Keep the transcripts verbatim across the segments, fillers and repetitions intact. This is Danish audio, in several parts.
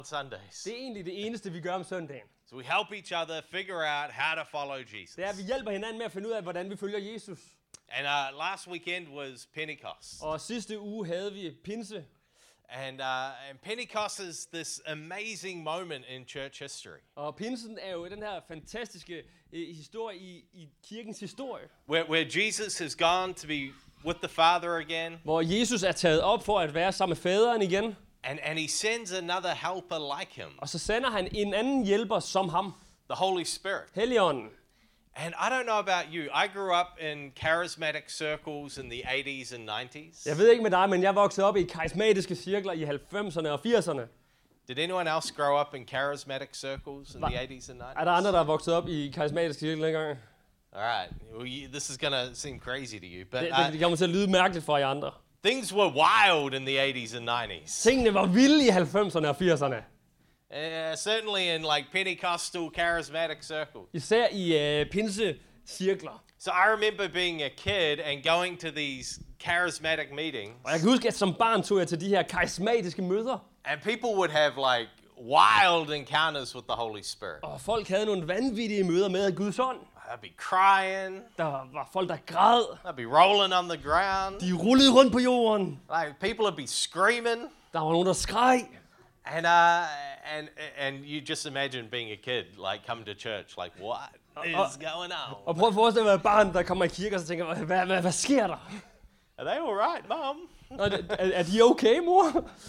Sundays. Det er egentlig det eneste, vi gør om søndagen. So we help each other figure out how to follow Jesus. Det er, at vi hjælper hinanden med at finde ud af, hvordan vi følger Jesus. And uh, last weekend was Pentecost. Og sidste uge havde vi pinse. And, uh, and Pentecost is this amazing moment in church history. Og pinsen er jo den her fantastiske eh, historie i, i kirkens historie. Where, where Jesus has gone to be with the Father again. Hvor Jesus er taget op for at være sammen med faderen igen. And, and he sends another helper like him. Og så sender han en anden hjælper som ham. The Holy Spirit. Helligånden. And I don't know about you. I grew up in charismatic circles in the eighties and nineties. Jeg ved ikke med dig, men jeg voksede op i karismatiske cirkler i halvfemserne og firserne. Did anyone else grow up in charismatic circles in the eighties and nineties? Er der andre, der er vokset op i karismatiske cirkler engang? All right. Well, you, this is going to seem crazy to you, but Det, uh, det kommer til at lyde mærkeligt for jer andre. things were wild in the eighties and nineties. Tingene var vilde i halvfemserne og firserne. Uh, certainly in like Pentecostal charismatic circles. Især i uh, pinsecirkler. So I remember being a kid and going to these charismatic meetings, Og jeg kan huske, at som barn tog jeg til de her karismatiske møder. and people would have like wild encounters with the Holy Spirit. Og folk havde nogle vanvittige møder med Guds ånd. I'd be crying. Der var folk, der græd. I'd be rolling on the ground. De rullede rundt på jorden. Like people would be screaming. Der var nogen, der skreg. And uh, and and you just imagine being a kid, like coming to church, like what is going on? Og prøv at forestille dig at være barn, der kommer i kirke og så tænker, hvad, hvad, hvad sker der? Are they all right, Mom? Er, er, er de okay, mor?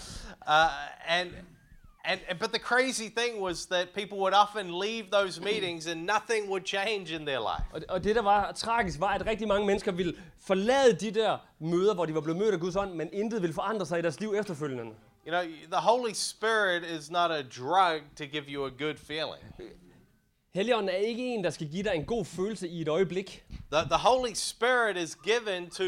Uh, and and but the crazy thing was that people would often leave those meetings and nothing would change in their life. Og, og det, der var tragisk, var, at rigtig mange mennesker ville forlade de der møder, hvor de var blevet mødt af Guds ånd, men intet ville forandre sig i deres liv efterfølgende. You know, the Holy Spirit is not a drug to give you a good feeling. Helligånden er ikke en, der skal give dig en god følelse i et øjeblik. The, the Holy Spirit is given to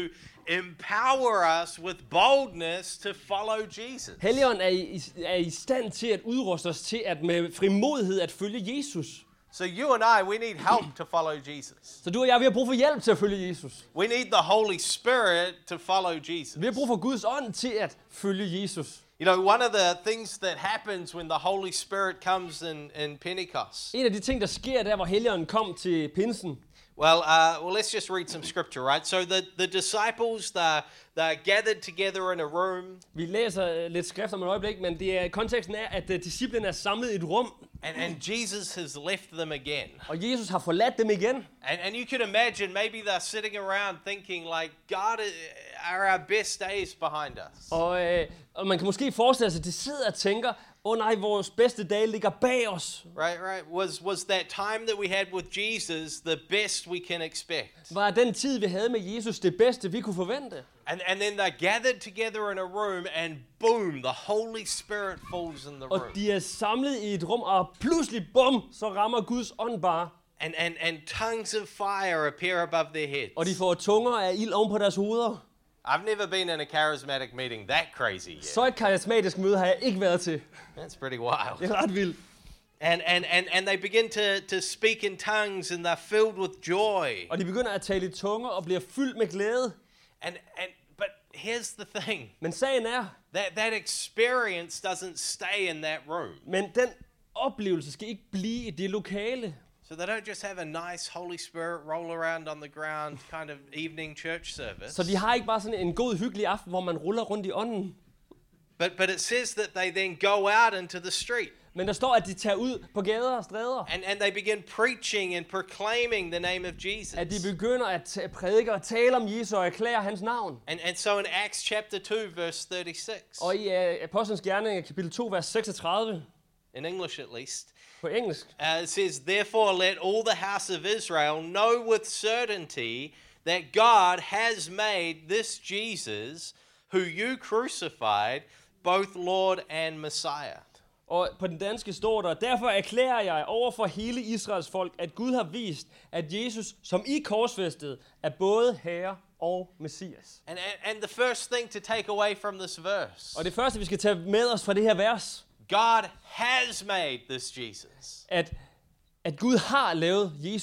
empower us with boldness to follow Jesus. Helligånden er i, er i stand til at udruste os til at med frimodighed at følge Jesus. So you and I, we need help to follow Jesus. Så du og jeg, vi har brug for hjælp til at følge Jesus. We need the Holy Spirit to follow Jesus. Vi har brug for Guds ånd til at følge Jesus. You know, one of the things that happens when the Holy Spirit comes in, in Pentecost. En af de ting, der sker der, hvor Helligånden kom til pinsen. Well, uh, well, let's just read some scripture, right? So the, the disciples, they're, they're gathered together in a room. Vi læser lidt skrift om et øjeblik, men det er, konteksten er, at uh, disciplene er samlet i et rum. And, and Jesus has left them again. Og Jesus har forladt dem igen. And, and you can imagine maybe they're sitting around thinking like, God, are our best days behind us? Og, øh, og man kan måske forestille sig, at de sidder og tænker, åh oh, nej, vores bedste dage ligger bag os. Right, right. Was, was that time that we had with Jesus the best we can expect? Var den tid, vi havde med Jesus, det bedste, vi kunne forvente? And, and then they're gathered together in a room and boom, the Holy Spirit falls in the Og room. de er samlet i et rum, og pludselig, bum, så rammer Guds ånd bare. And, and, and tongues of fire appear above their heads. Og de får tunger af ild oven på deres hoveder. I've never been in a charismatic meeting that crazy yet. Så et karismatisk møde har jeg ikke været til. That's pretty wild. Det er ret vildt. And, and, and, and they begin to, to speak in tongues and they're filled with joy. Og de begynder at tale i tunger og bliver fyldt med glæde. And, and, but here's the thing. Men sagen er, That, that experience doesn't stay in that room. men den oplevelse skal ikke blive i det lokale. So they don't just have a nice Holy Spirit roll around on the ground kind of evening church service. Så de har ikke bare sådan en god, hyggelig aften, hvor man ruller rundt i ånden. But, but it says that they then go out into the street. Men der står, at de tager ud på gader og stræder. And, and they begin preaching and proclaiming the name of Jesus. At de begynder at t- prædike og tale om Jesus og erklære hans navn. And, and so in Acts chapter two, verse thirty-six, Og i uh, Apostlenes Gerninger, kapitel to, vers seksogtredive, in English at least, på engelsk, uh, it says, "Therefore let all the house of Israel know with certainty that God has made this Jesus, who you crucified, both Lord and Messiah." og på den danske står der, derfor erklærer jeg over for hele Israels folk, at Gud har vist, at Jesus, som I korsfæstede, er både Herre og Messias. And, and, and the first thing to take away from this verse, Og det første, vi skal tage med os fra det her vers, God has made this Jesus. at, at Gud har lavet Jesus.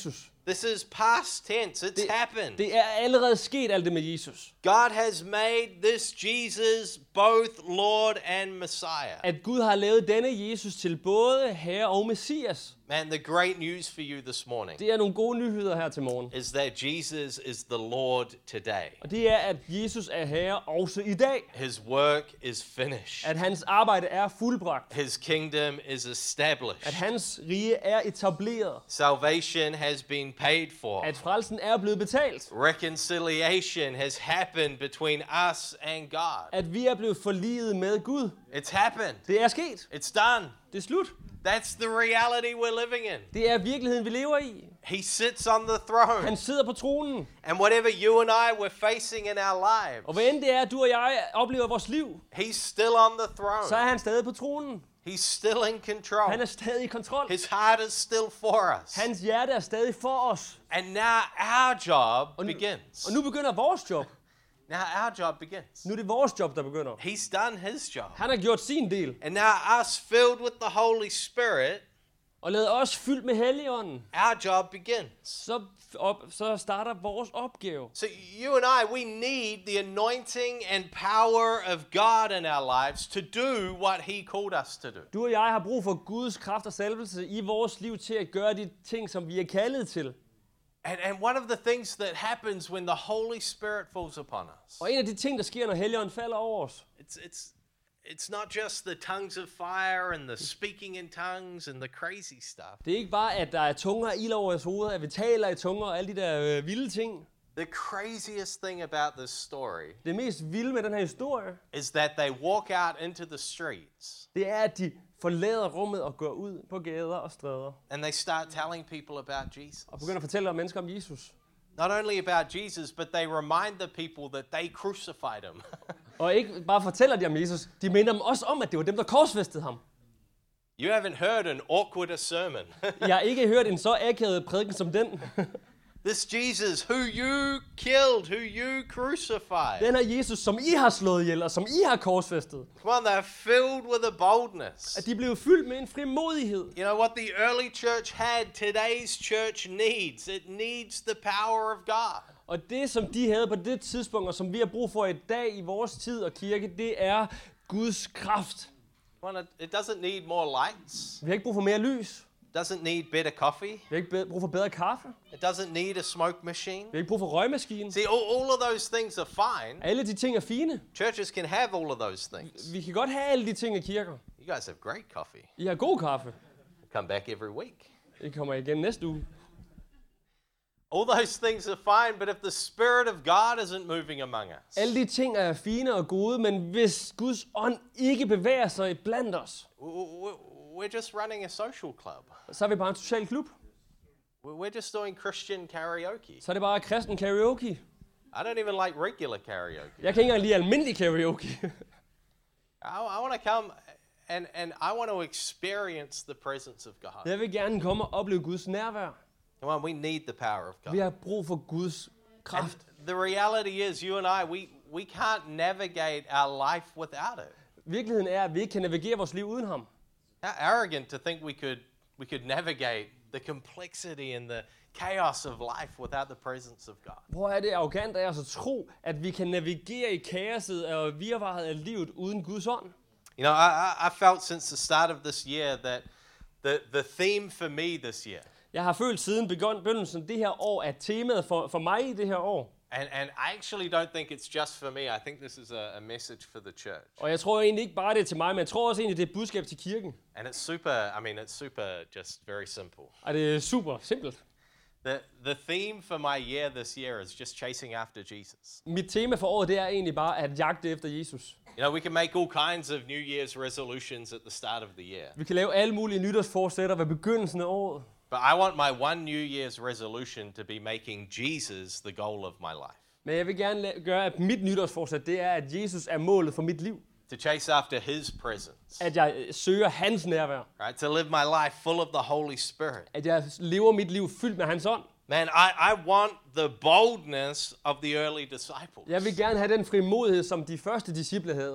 This is past tense. It's Det, happened. det er allerede sket alt det med Jesus. God has made this Jesus both Lord and Messiah. At Gud har lavet denne Jesus til både Herre og Messias. Man, the great news for you this morning Det er nogle gode nyheder her til morgen. is that Jesus is the Lord today. Og det er, at Jesus er Herre også i dag. His work is finished. At hans arbejde er fuldbragt. His kingdom is At established. hans rige er etableret. Salvation has been paid for. At frelsen er blevet betalt. Reconciliation has happened between us and God. At vi er blevet forliget med Gud. It's happened. Det er sket. It's done. Det er slut. That's the reality we're living in. Det er virkeligheden, vi lever i. He sits on the throne. Han sidder på tronen. And whatever you and I were facing in our lives, Og hvad end det er, du og jeg oplever i vores liv, He's still on the så er throne. han stadig på tronen. He's still in control. Han er stadig i kontrol. His heart is still for us. Hans hjerte er stadig for os. And now our job Og nu, begins. og nu begynder vores job. Now our job begins. Nu er det vores job, der begynder. He's done his job. Han har gjort sin del. And now us filled with the Holy Spirit, Og lavet os fyldt med Helligånden. our job begins. Så, op, så starter vores opgave. So you and I, we need the anointing and power of God in our lives to do what He called us to do. Du og jeg har brug for Guds kraft og salvelse i vores liv til at gøre de ting, som vi er kaldet til. And, and one of the things that happens when the Holy Spirit falls upon us, Og en af de ting, der sker, når Helligånden falder over os, it's, it's, it's not just the tongues of fire and the speaking in tongues and the crazy stuff. det er ikke bare, at der er tunger og ild over vores hoveder, at vi taler i tunger og alle de der øh, vilde ting. The craziest thing about this story Det mest vilde med den her historie, is that they walk out into the streets det er, at de forlader rummet og går ud på gader og stræder. and they start telling people about Jesus. Og begynder at fortælle om mennesker om Jesus. Not only about Jesus, but they remind the people that they crucified him. Og ikke bare fortæller de om Jesus, de minder dem også om, at det var dem, der korsfæstede ham. You haven't heard an awkward sermon. Jeg har ikke hørt en så akavet prædiken som den. This Jesus who you killed, who you crucified. Den er Jesus, som I har slået ihjel, og som I har korsfæstet. Come on, they're filled with a boldness. At de blev fyldt med en frimodighed. You know what the early church had, today's church needs. It needs the power of God. Og det, som de havde på det tidspunkt, og som vi har brug for i dag i vores tid og kirke, det er Guds kraft. Come on, it doesn't need more lights. Vi har ikke brug for mere lys. It doesn't need better coffee. Vi har ikke be- brug for bedre kaffe. It doesn't need a smoke machine. Vi har ikke brug for røgmaskinen. See, all, all of those things are fine. Alle de ting er fine. Churches can have all of those things. Vi kan godt have alle de ting i kirker. You guys have great coffee. I har god kaffe. Come back every week. I kommer igen næste uge. All those things are fine, but if the Spirit of God isn't moving among us, Alle de ting er fine og gode, men hvis Guds ånd ikke bevæger sig blandt os, w- w- we're just running a social club. så er vi bare en social klub. We're just doing Christian karaoke. Så er det bare kristen karaoke. I don't even like regular karaoke. Jeg kan ikke engang lide almindelig karaoke. I, I want to come and, and I want to experience the presence of God. Jeg vil gerne komme og opleve Guds nærvær. Come on, we need the power of God. Vi har brug for Guds And kraft. the reality is, you and I, we, we can't navigate our life without it. Virkeligheden er, at vi ikke kan navigere vores liv uden ham. How arrogant to think we could we could navigate the complexity and the chaos of life without the presence of God. Hvor er det arrogant af os at tro, at vi kan navigere i kaoset og virvaret af livet uden Guds ånd. You know, I, I, I felt since the start of this year that the, the theme for me this year, Jeg har følt siden begyndelsen det her år, at temaet for, for mig i det her år, and, and I actually don't think it's just for me, I think this is a, a message for the church. og jeg tror egentlig ikke bare det er til mig, men jeg tror også egentlig det er et budskab til kirken. And it's super, I mean, it's super just very simple. Og det er super simpelt. The, the theme for my year this year is just chasing after Jesus. Mit tema for året, det er egentlig bare at jagte efter Jesus. You know, we can make all kinds of New Year's resolutions at the start of the year. Vi kan lave alle mulige nytårsforsætter ved begyndelsen af året. But I want my one New Year's resolution to be making Jesus the goal of my life. Men jeg vil gerne la- gøre, at mit nytårsforsæt, det er, at Jesus er målet for mit liv. To chase after His presence. At jeg øh, søger hans nærvær. Right? To live my life full of the Holy Spirit. At jeg lever mit liv fyldt med hans ånd. Man, I, I want the boldness of the early disciples. Jeg vil gerne have den frimodighed, som de første disciple havde.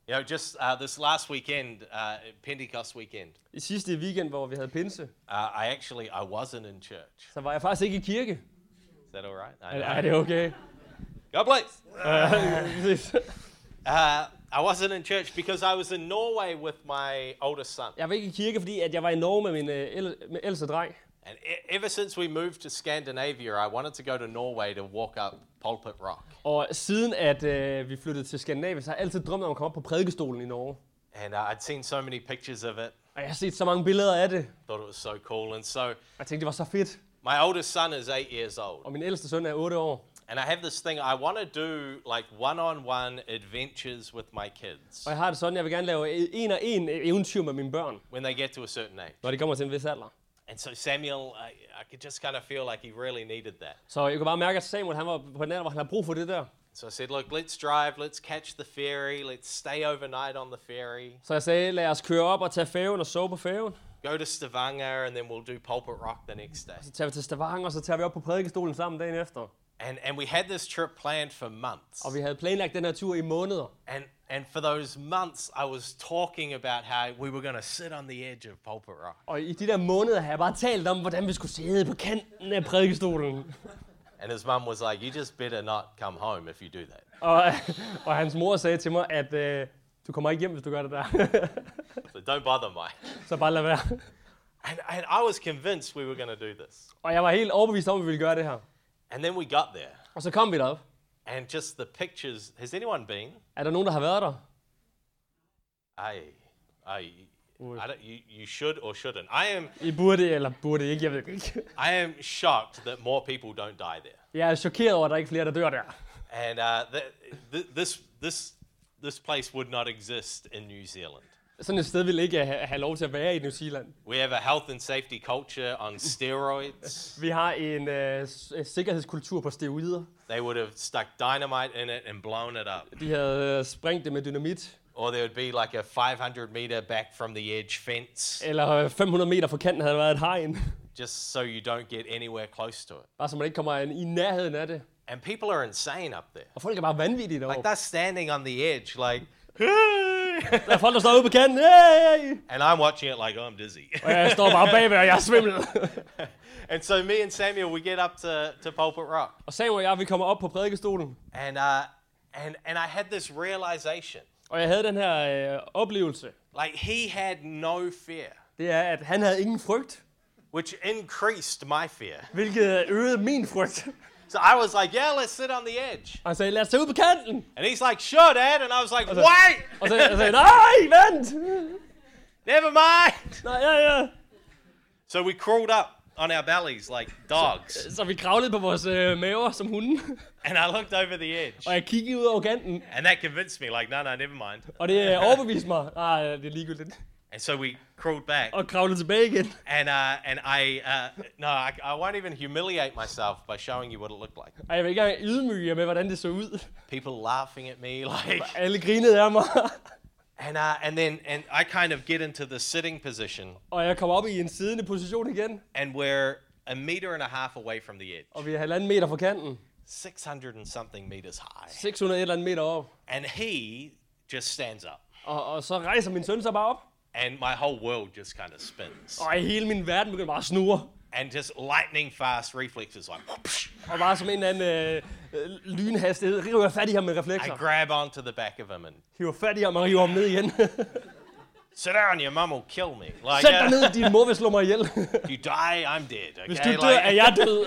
You know, just uh, this last weekend, uh, Pentecost weekend, I sidste weekend, hvor vi havde pinse, uh, I actually, I wasn't in church. så var jeg faktisk ikke i kirke. Is that all right? I Er, know. er det okay? God bless. Uh, Uh, I wasn't in church because I was in Norway with my oldest son. jeg var ikke i kirke, fordi at jeg var i Norge med min øh, el- med ældste dreng. And e- ever since we moved to Scandinavia, I wanted to go to Norway to walk up Pulpit Rock. Og siden at øh, vi flyttede til Skandinavien, så har jeg altid drømt om at komme op på prædikestolen i Norge. And uh, I'd seen so many pictures of it. Og jeg har set så mange billeder af det. Thought it was so cool. And so Og jeg tænkte, det var så fedt. my oldest son is eight years old. Og min ældste søn er otte år. And I have this thing, I want to do like one-on-one adventures with my kids Og jeg har det sådan, jeg vil gerne lave en og en eventyr med mine børn, when they get to a certain age. når de kommer til en vis alder. And so Samuel, I, I could just kind of feel like he really needed that. Så jeg kunne bare mærke, at Samuel han var på den alder, hvor han har brug for det der. So I said, look, let's drive, let's catch the ferry, let's stay overnight on the ferry, Så jeg sagde, lad os køre op og tage færgen og sove på færgen. go to Stavanger, and then we'll do Pulpit Rock the next day. Så tager vi til Stavanger, og så tager vi op på prædikestolen sammen dagen efter. And, and we had this trip planned for months. Og vi havde planlagt den her tur i måneder. And, and for those months, I was talking about how we were going to sit on the edge of Pulpit Rock. Og i de der måneder har jeg bare talt om, hvordan vi skulle sidde på kanten af prædikestolen. And his mum was like, you just better not come home if you do that. Og, og hans mor sagde til mig, at øh, du kommer ikke hjem, hvis du gør det der. So don't bother me. Så bare lad være. And, and I was convinced we were going to do this. Og jeg var helt overbevist om, at vi ville gøre det her. And then we got there. Og så kom vi derop. And just the pictures. Has anyone been? Er der nogen, der har været der? I, I, I don't, you, you should or shouldn't. I am, I burde, eller burde ikke, jeg ved det ikke. I am shocked that more people don't die there. Jeg er chokeret over, at der ikke er flere, der dør der. And uh, th- th- this, this, this place would not exist in New Zealand. Sådan et sted ville ikke have, have lov til at være i New Zealand. We have a health and safety culture on steroids. Vi har en øh, s- øh, sikkerhedskultur på steroider. They would have stuck dynamite in it and blown it up. De havde øh, sprængt det med dynamit. Or there would be like a five hundred meter back from the edge fence, Eller øh, fem hundrede meter fra kanten havde været et hegn. just so you don't get anywhere close to it. Bare så man ikke kommer i nærheden af det. And people are insane up there. Og folk er bare vanvittige Like derovre. they're standing on the edge, like, Der er folk, der står ude på kanten. Hey! and I'm watching it like, oh, I'm dizzy. Og jeg står bare bagved, og jeg er svimmel. And so me and Samuel, we get up to, to Pulpit Rock, Og Samuel og jeg, vi kommer op på prædikestolen. and uh, and and I had this realization, Og jeg havde den her øh, oplevelse. like he had no fear, Det er, at han havde ingen frygt. which increased my fear. Hvilket øgede min frygt. So I was like, yeah, let's sit on the edge. Og han sagde, lad os tage ud på kanten. And he's like, sure, Dad. And I was like, Also- wait, Og så jeg sagde, nej, vent. never mind. Nej, ja, ja. So we crawled up on our bellies like dogs. Så vi kravlede på vores øh, maver som hunde. And I looked over the edge. Og jeg kiggede ud over kanten. And that convinced me, like, no, no, never mind. Og det øh, overbeviste mig. Nej, det er ligegyldigt. And so we crawled back. Og kravlede tilbage igen. And uh, and I, uh, no, I, I won't even humiliate myself by showing you what it looked like. Og jeg vil ikke engang ydmyge jer med, hvordan det så ud. People laughing at me, like, Alle grinede af mig. and uh, and then and I kind of get into the sitting position, Og jeg kommer op i en siddende position igen. and we're a meter and a half away from the edge, Og vi er halvanden meter fra kanten. six hundred and something meters high. seks hundrede et eller andet meter op. And he just stands up, Og, og så rejser min søn sig bare op. and my whole world just kind of spins, Og hele min verden begynder bare at snurre. and just lightning fast reflexes, like, whoopsh. Og bare som en eller anden øh, øh, lynhastighed, river jeg fat i ham med I reflekser. grab onto the back of him and Hiver fat i ham og river ham ned igen. sit down, your mum will kill me. Like, Sæt dig uh, ned, din mor vil slå mig ihjel. if you die, I'm dead. Hvis Okay, du dør, er like, jeg død.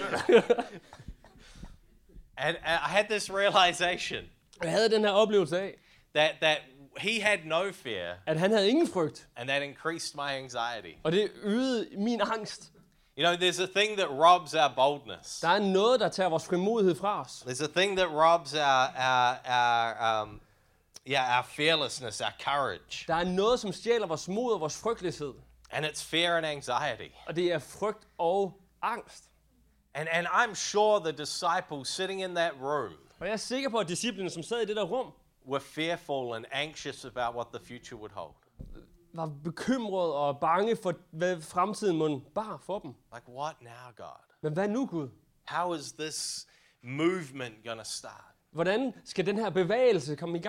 and, and I had this realization Jeg havde den her oplevelse af, that that he had no fear, at han havde ingen frygt. and that increased my anxiety. Og det øgede min angst. You know, there's a thing that robs our boldness. Der er noget, der tager vores frimodighed fra os. There's a thing that robs our our our um, yeah, our fearlessness, our courage, Der er noget, som stjæler vores mod og vores frygtløshed. and it's fear and anxiety. Og det er frygt og angst. And and I'm sure the disciples sitting in that room Og jeg er sikker på, at disciplene, som sad i det der rum, were fearful and anxious about what the future would hold. var bekymrede og bange for, hvad fremtiden måtte bar for dem. Like, what now, God? Men hvad nu, Gud? How is this movement going to start? Hvordan skal den her bevægelse komme i gang?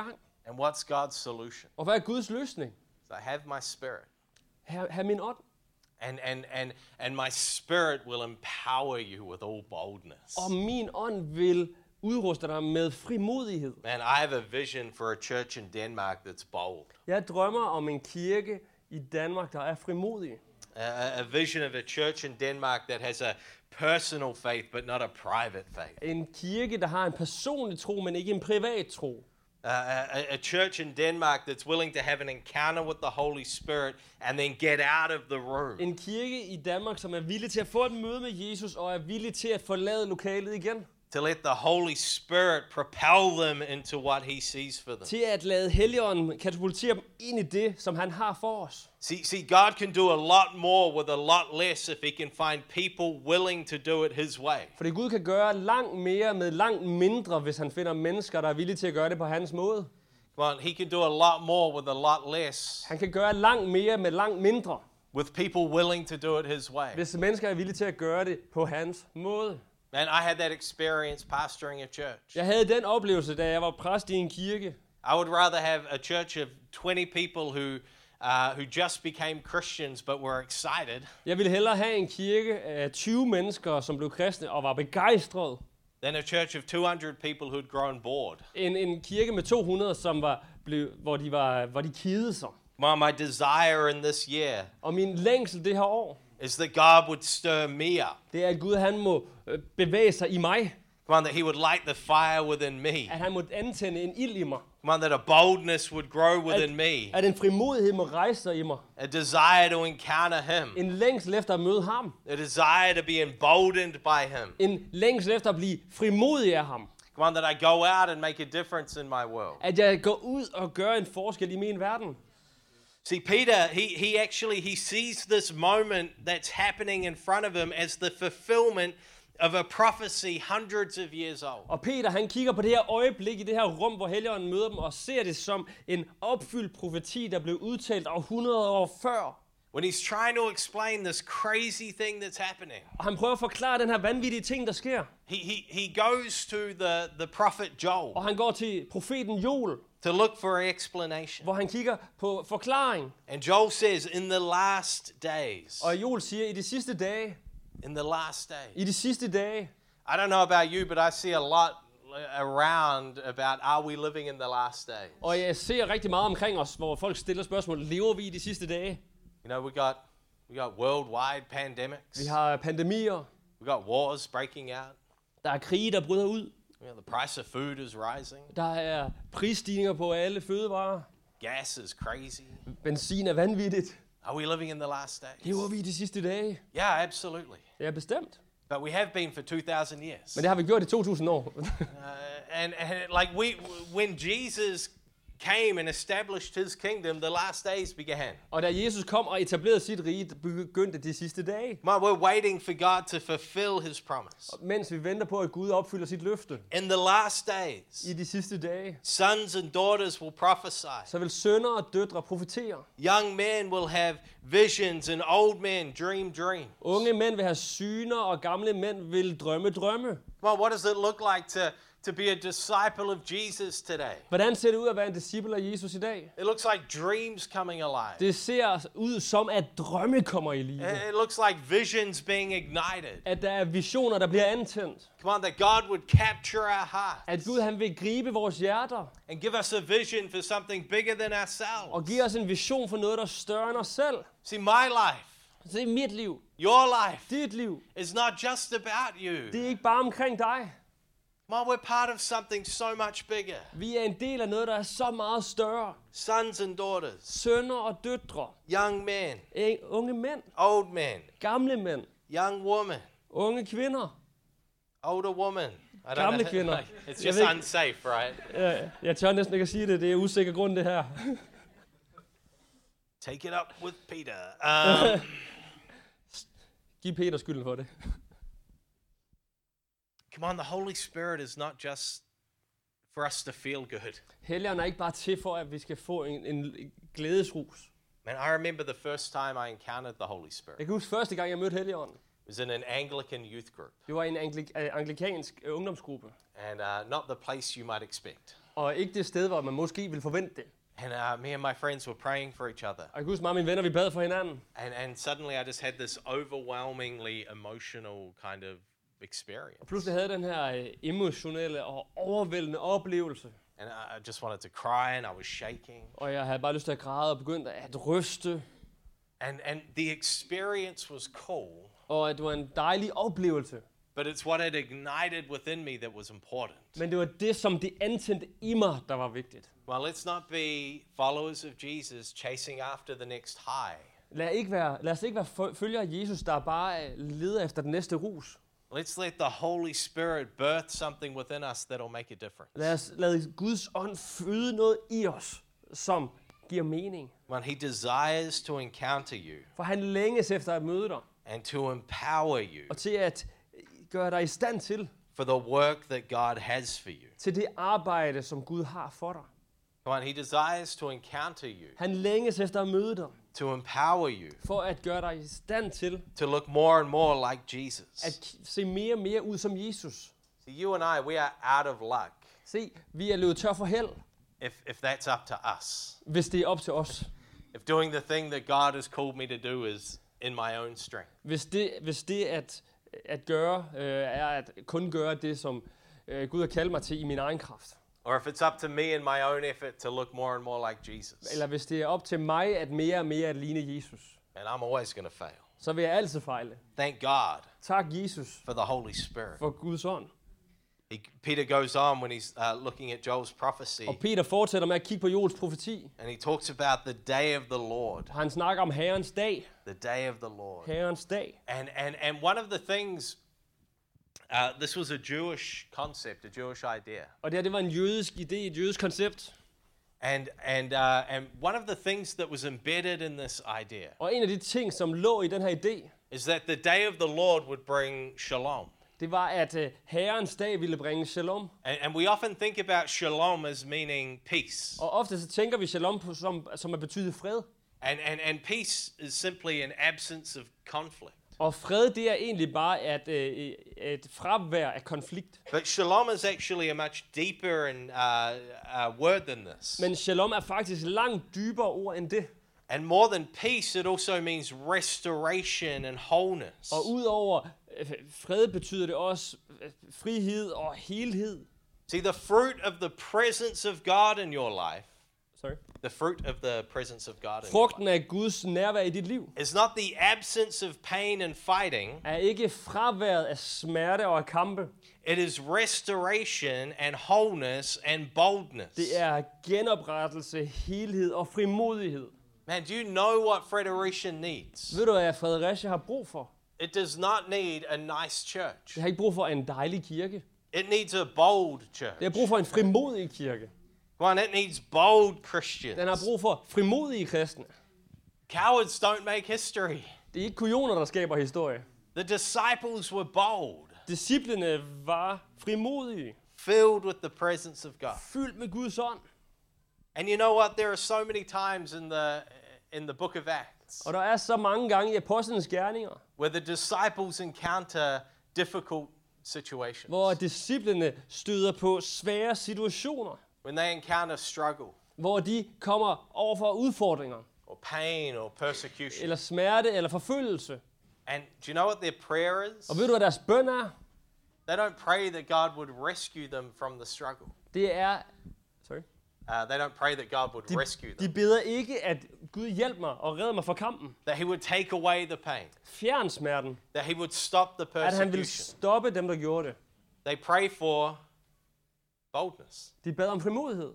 And what's God's solution? Og hvad er Guds løsning? So I have my spirit. Ha, ha min ånd. And, and, and, and my spirit will empower you with all boldness. Og min ånd vil udruste dig med frimodighed. Man, I have a vision for a church in Denmark that's bold. Jeg drømmer om en kirke i Danmark, der er frimodig. A, a vision of a church in Denmark that has a personal faith, but not a private faith. En kirke, der har en personlig tro, men ikke en privat tro. Uh, a, a church in Denmark that's willing to have an encounter with the Holy Spirit and then get out of the room. En kirke i Danmark, som er villig til at få et møde med Jesus og er villig til at forlade lokalet igen. To let the Holy Spirit propel them into what He sees for them. Til at lade Helligånden katapultere dem ind i det, som han har for os. See, see, God can do a lot more with a lot less if He can find people willing to do it His way. Fordi Gud kan gøre langt mere med langt mindre, hvis han finder mennesker, der er villige til at gøre det på hans måde. Come on, He can do a lot more with a lot less Han kan gøre langt mere med langt mindre, with people willing to do it His way. hvis mennesker er villige til at gøre det på hans måde. And I had that experience pastoring a church. Jeg havde den oplevelse, da jeg var præst i en kirke. I would rather have a church of twenty people who uh, who just became Christians but were excited Jeg ville hellere have en kirke af tyve mennesker, som blev kristne og var begejstrede, than a church of two hundred people who'd grown bored. end en kirke med to hundrede, som var blev, hvor de var, hvor de kedede sig. My, my desire in this year Og min længsel det her år, is that God would stir me up. det er, at Gud han må øh, bevæge sig i mig. Come on, that He would light the fire within me. At han må antænde en ild i mig. Come on, that a boldness would grow within At, me. at en frimodighed må rejse sig i mig. A desire to encounter Him. En længsel efter at møde ham. A desire to be emboldened by Him. En længsel efter at blive frimodig af ham. Come on, that I go out and make a difference in my world. At jeg går ud og gør en forskel i min verden. See, Peter, he, he actually, he sees this moment that's happening in front of him as the fulfillment of a prophecy hundreds of years old. Og Peter, han kigger på det her øjeblik i det her rum, hvor Helligånden møder dem, og ser det som en opfyldt profeti, der blev udtalt af hundrede år før. When he's trying to explain this crazy thing that's happening. Og han prøver at forklare den her vanvittige ting, der sker. He, he, he goes to the, the prophet Joel Og han går til profeten Joel, to look for an explanation. hvor han kigger på forklaring. And Joel says, in the last days, Og Joel siger, i de sidste dage, in the last days. i de sidste dage, I don't know about you, but I see a lot around about, are we living in the last days? og jeg ser rigtig meget omkring os, hvor folk stiller spørgsmål, lever vi i de sidste dage? You know, we got, we got worldwide pandemics. Vi har pandemier, We got wars breaking out. der er krige, der bryder ud, You know, the price of food is rising. der er prisstigninger på alle fødevarer, Gas is crazy. benzin er vanvittigt. Are we living in the last days? Lever vi i de sidste dage? Yeah, absolutely. Ja, bestemt. But we have been for two thousand years. Men det har vi gjort i to tusind år. Uh, and, and like we, when Jesus came and established His kingdom, the last days began. Og da Jesus kom og etablerede sit rige, begyndte de sidste dage. Man, we're waiting for God to fulfill His promise. Mens vi venter på, at Gud opfylder sit løfte. In the last days, I de sidste dage, sons and daughters will prophesy. så vil sønner og døtre profetere. Young men will have visions and old men dream dreams. Unge mænd vil have syner, og gamle mænd vil drømme drømme. Come on, what does it look like to, to be a disciple of Jesus today? Hvordan ser det ud at være en disciple af Jesus i dag? It looks like dreams coming alive. Det ser ud som, at drømme kommer i live. It looks like visions being ignited. At der er visioner, der bliver antændt. Come on, that God would capture our heart At Gud han vil gribe vores hjerter. and give us a vision for something bigger than Og ourselves. give os en vision for noget, der er større end os selv. See, my life, Det er mit liv. your life, Dit liv. is not just about you. Det er ikke bare omkring dig. Come on, we're part of something so much bigger. Vi er en del af noget, der er så meget større. Sons and daughters, Sønner og døtre. young men, Eng- Unge mænd. old men, Gamle mænd. young woman, Unge kvinder. older woman. I don't Gamle know. kvinder. It's Jeg just ved ikke- unsafe, right? Jeg, jeg tør næsten ikke at sige det. Det er usikker grund, det her. Take it up with Peter. Um, Giv Peter skylden for det. come on, the Holy Spirit is not just for us to feel good. Helligånden er ikke bare til for, at vi skal få en, en glædesrus. Man, I remember the first time I encountered the Holy Spirit. Jeg kan huske første gang, jeg mødte Helligånden. It was in an Anglican youth group, Det var i en anglik- øh, anglikansk øh, ungdomsgruppe. and uh, not the place you might expect. Og ikke det sted, hvor man måske vil forvente det. And uh, me and my friends were praying for each other. Og jeg kan huske mig og mine venner, vi bad for hinanden. And, and suddenly I just had this overwhelmingly emotional kind of experience. Og pludselig havde jeg den her øh, emotionelle og overvældende oplevelse. And I just wanted to cry and I was shaking. Og jeg havde bare lyst til at græde og begyndte at ryste. And, and the experience was cool. Og det var en dejlig oplevelse. But it's what it ignited within me that was important. Men det var det, som det antændte i mig, der var vigtigt. Well, let's not be followers of Jesus chasing after the next high. Lad, ikke være, lad os ikke være følgere af Jesus, der bare leder efter den næste rus. Let's let the Holy Spirit birth something within us that'll make a difference. Lad os lade Guds ånd føde noget i os, som giver mening. When he desires to encounter you For han længes efter at møde dig, and to empower you og til at gøre dig i stand til, for the work that God has for you. til det arbejde, som Gud har for dig. Come on, he desires to encounter you, Han længes efter at møde dig, to empower you, for at gøre dig i stand til to look more and more like Jesus. at se mere og mere ud som Jesus. See, you and I, we are out of luck Se, vi er løbet tør for held, if, if that's up to us. hvis det er op til os. If doing the thing that God has called me to do is in my own strength. Hvis det, hvis det at, at gøre, øh, er at kun gøre det, som øh, Gud har kaldt mig til i min egen kraft. Or if it's up to me and my own effort to look more and more like Jesus. Eller hvis det er op til mig at mere og mere at ligne Jesus, And I'm always going to fail. så vil jeg altid fejle. Thank God Tak Jesus for the Holy Spirit. for Guds ånd. He, Peter goes on when he's uh, looking at Joel's prophecy, Og Peter fortsætter med at kigge på Joels profeti. and he talks about the day of the Lord. Han snakker om Herrens dag. The day of the Lord. Herrens dag. And, and, and one of the things, uh, this was a Jewish concept, a Jewish idea. Og det her, det var en jødisk idé, et jødisk koncept. And, and, uh, and one of the things that was embedded in this idea Og en af de ting, som lå i den her idé, is that the day of the Lord would bring shalom. det var, at uh, Herrens dag ville bringe shalom. And, and we often think about shalom as meaning peace. Og ofte så tænker vi shalom på, som, som at betyde fred. And, and, and peace is simply an absence of conflict. Og fred, det er egentlig bare at, uh, et fravær af konflikt. But shalom is actually a much deeper and uh, uh, word than this. Men shalom er faktisk langt dybere ord end det. And more than peace, it also means restoration and wholeness. Og udover øh, fred betyder det også øh, frihed og helhed. See, the fruit of the presence of God in your life, Sorry. the fruit of the presence of God in your life, Frugten af Guds nærvær i dit liv is not the absence of pain and fighting. er ikke fraværet af smerte og af kampe. It is restoration and wholeness and boldness. Det er genoprettelse, helhed og frimodighed. Man, do you know what Fredericia needs? Ved du, hvad Fredericia har brug for? It does not need a nice church. Det har ikke brug for en dejlig kirke. It needs a bold church. Det har brug for en frimodig kirke. Come on, it needs bold Christians. Den har brug for frimodige kristne. Cowards don't make history. Det er ikke kujoner, der skaber historie. The disciples were bold, Disciplene var frimodige, filled with the presence of God. fyldt med Guds ånd. And you know what? There are so many times in the in the book of Acts Og der er så mange gange i apostlenes gerninger, where the disciples encounter difficult situations. hvor disciplene støder på svære situationer, When they encounter struggle hvor de kommer over for udfordringer, or pain or persecution. eller smerte, eller forfølgelse. And do you know what their prayer is? Og ved du, hvad deres bøn er? They don't pray that God would rescue them from the struggle. Det er... Sorry. Uh, they don't pray that God would De, rescue de them. beder ikke, at Gud hjælper mig og redder mig fra kampen. That he would take away the pain. Fjern smerten. That he would stop the At han vil persecution. stoppe dem, der gjorde det. They pray for boldness. De bad om frimodighed.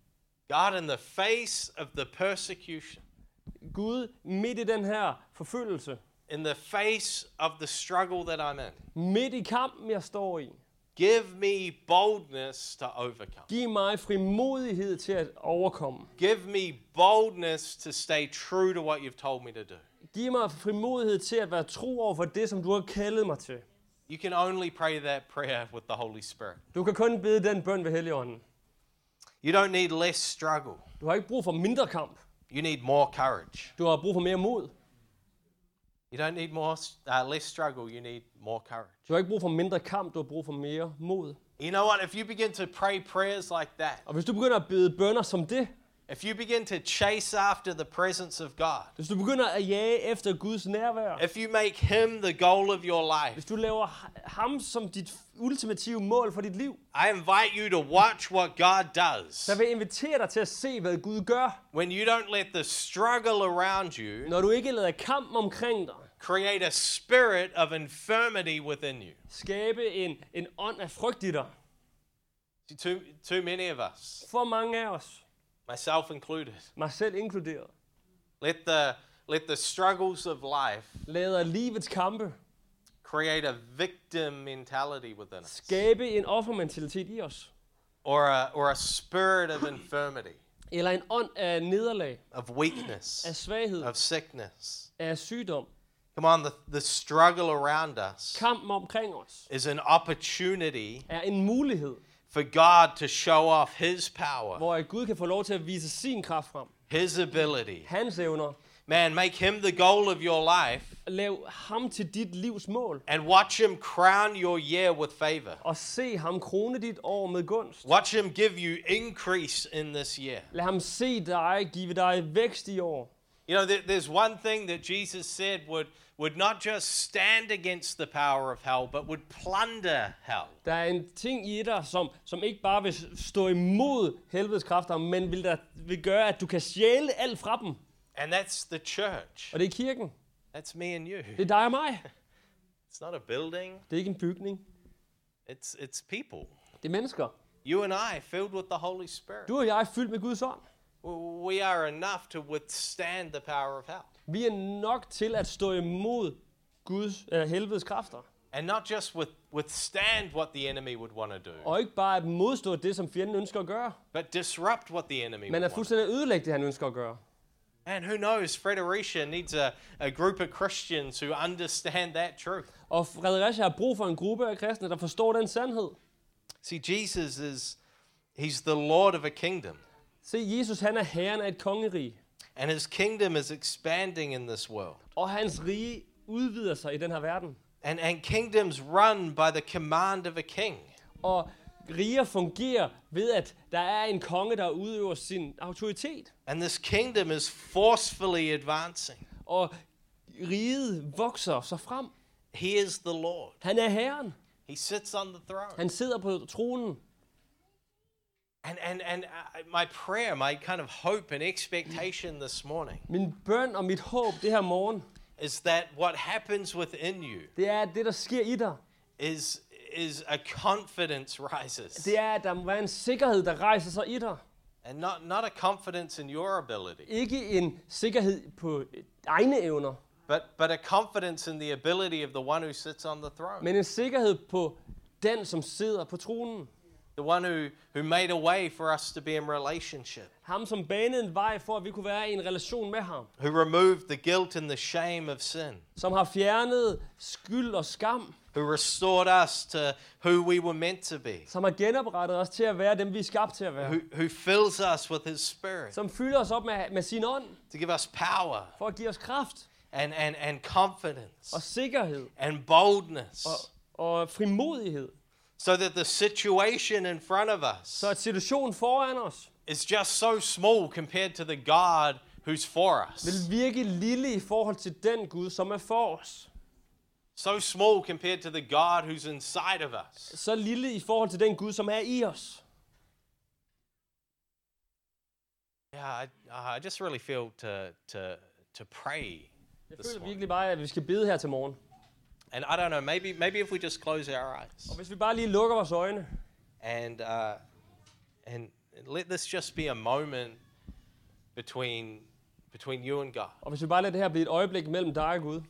God, in the face of the persecution, Gud, midt i den her forfølgelse, in the face of the struggle that I'm in, midt i kampen, jeg står i, give me boldness to overcome. giv mig frimodighed til at overkomme. Give me boldness to stay true to what you've told me to do. Giv mig frimodighed til at være tro over for det, som du har kaldet mig til. You can only pray that prayer with the Holy Spirit. Du kan kun bede den bøn ved Helligånden. You don't need less struggle. Du har ikke brug for mindre kamp. You need more courage. Du har brug for mere mod. You don't need more uh, less struggle. You need more courage. Du har ikke brug for mindre kamp, du har brug for mere mod. You know what? If you begin to pray prayers like that, Og hvis du begynder at bede bønner som det, if you begin to chase after the presence of God, hvis du begynder at jage efter Guds nærvær, if you make Him the goal of your life, hvis du laver ham som dit ultimative mål for dit liv, I invite you to watch what God does. så vil jeg invitere dig til at se, hvad Gud gør, When you don't let the struggle around you når du ikke lader kampen omkring dig create a spirit of infirmity within you. skabe en, en ånd af frygt i dig. See, Too, too many of us, For mange af os, myself included, mig selv inkluderet, let the, let the struggles of life lader livets kampe create a victim mentality within us, skabe en offermentalitet i os, or a, or a spirit of infirmity, eller en ånd af nederlag, of weakness, af svaghed, of sickness. af sygdom. Come on, the, the struggle around us Kampen omkring os is an opportunity er en mulighed, for God to show off His power, hvor Gud kan få lov til at vise sin kraft frem, His ability. hans evner. Man, make Him the goal of your life Lav ham til dit livs mål, and watch Him crown your year with favor. og se ham krone dit år med gunst. Watch Him give you increase in this year. Lad ham se dig, give dig vækst i år. You know, there, there's one thing that Jesus said would, would not just stand against the power of hell, but would plunder hell. Der er en ting i dig, som, som ikke bare vil stå imod helvedes kræfter, men vil, der, vil gøre, at du kan stjæle alt fra dem. And that's the church. Og det er kirken. That's me and you. Det er dig og mig. It's not a building. Det er ikke en bygning. It's, it's people. Det er mennesker. You and I, filled with the Holy Spirit. Du og jeg er fyldt med Guds ånd. We are enough to withstand the power of hell. Vi er nok til at stå imod Guds øh, helvedes kræfter. And not just with, withstand what the enemy would want to do, Og ikke bare at modstå det, som fjenden ønsker at gøre, but disrupt what the enemy men would at want. fuldstændig ødelægge det, han ønsker at gøre. And who knows, Fredericia needs a, a group of Christians who understand that truth. Og Fredericia har brug for en gruppe af kristne, der forstår den sandhed. See, Jesus is, he's the Lord of a kingdom. Se, Jesus han er herren af et kongerige, And his kingdom is expanding in this world. og hans rige udvider sig i den her verden. And, and kingdoms run by the command of a king. Og riger fungerer ved, at der er en konge, der udøver sin autoritet. And this kingdom is forcefully advancing. Og riget vokser sig frem. He is the Lord. Han er herren. He sits on the throne. Han sidder på tronen. And, and, and uh, my prayer, my kind of hope and expectation this morning Min bøn og mit håb det her morgen, is that what happens within you det er, at det, der sker i dig, is, is a confidence rises. det er, at der må være en sikkerhed, der rejser sig i dig. And not, not a confidence in your ability, Ikke en sikkerhed på egne evner, but, but a confidence in the ability of the one who sits on the throne. men en sikkerhed på den, som sidder på tronen. The one who, who made a way for us to be in relationship. Ham, som banede en vej for, at vi kunne være i en relation med ham. Who removed the guilt and the shame of sin. Som har fjernet skyld og skam. Who restored us to who we were meant to be. Som har genoprettet os til at være dem, vi er skabt til at være. Who, who fills us with his spirit. Som fylder os op med, med sin ånd. To give us power. For at give os kraft. And, and, and confidence. Og sikkerhed. And boldness. Og, og frimodighed. So that the situation in front of us Så at situationen foran os is just so small compared to the God who's for us. vil virke lille i forhold til den Gud, som er for os. So small compared to the God who's inside of us. Så lille i forhold til den Gud, som er i os. Yeah, I, I just really feel to, to, to pray Jeg this føler morning. virkelig bare, at vi skal bede her til morgen. And I don't know, maybe, maybe if we just close our eyes Og hvis vi bare lige lukker vores øjne, and, uh, and let this just be a moment between, between you and God. og hvis vi bare lader det her blive et øjeblik mellem dig og Gud,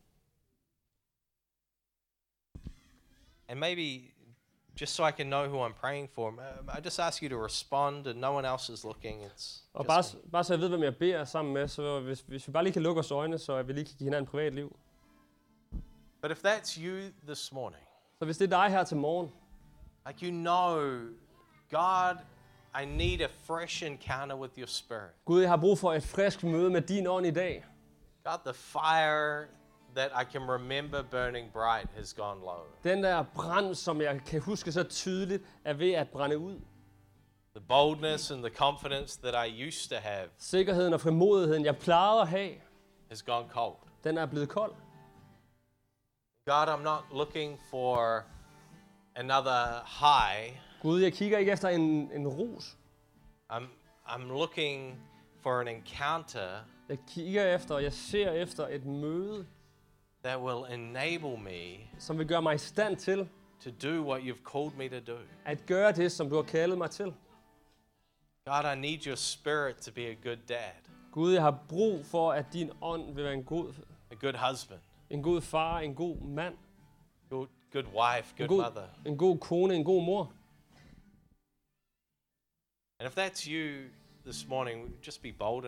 And maybe just so I can know who I'm praying for, um, I just ask you to respond and no one else is looking. It's og just bare, me. bare så jeg ved, hvem jeg beder sammen med, så hvis, hvis vi bare lige kan lukke vores øjne, så vi lige kan give hinanden et privatliv. But if that's you this morning, Så hvis det er dig her til morgen, like you know, God, I need a fresh encounter with your spirit. Gud, jeg har brug for et frisk møde med din ånd i dag. God, the fire that I can remember burning bright has gone low. Den der brand, som jeg kan huske så tydeligt, er ved at brænde ud. The boldness and the confidence that I used to have Sikkerheden og frimodigheden, jeg plejede at have, has gone cold. den er blevet kold. God, I'm not looking for another high. Gud, jeg kigger ikke efter en, en rus. I'm, I'm looking for an encounter Jeg kigger efter, og jeg ser efter et møde, that will enable me som vil gøre mig i stand til to do what you've called me to do. at gøre det, som du har kaldet mig til. God, I need your spirit to be a good dad, Gud, jeg har brug for, at din ånd vil være en god, a good husband, en god far, en god mand, good, good wife, en good god, mother. en god kone, en god mor. And if that's you this morning, just be bold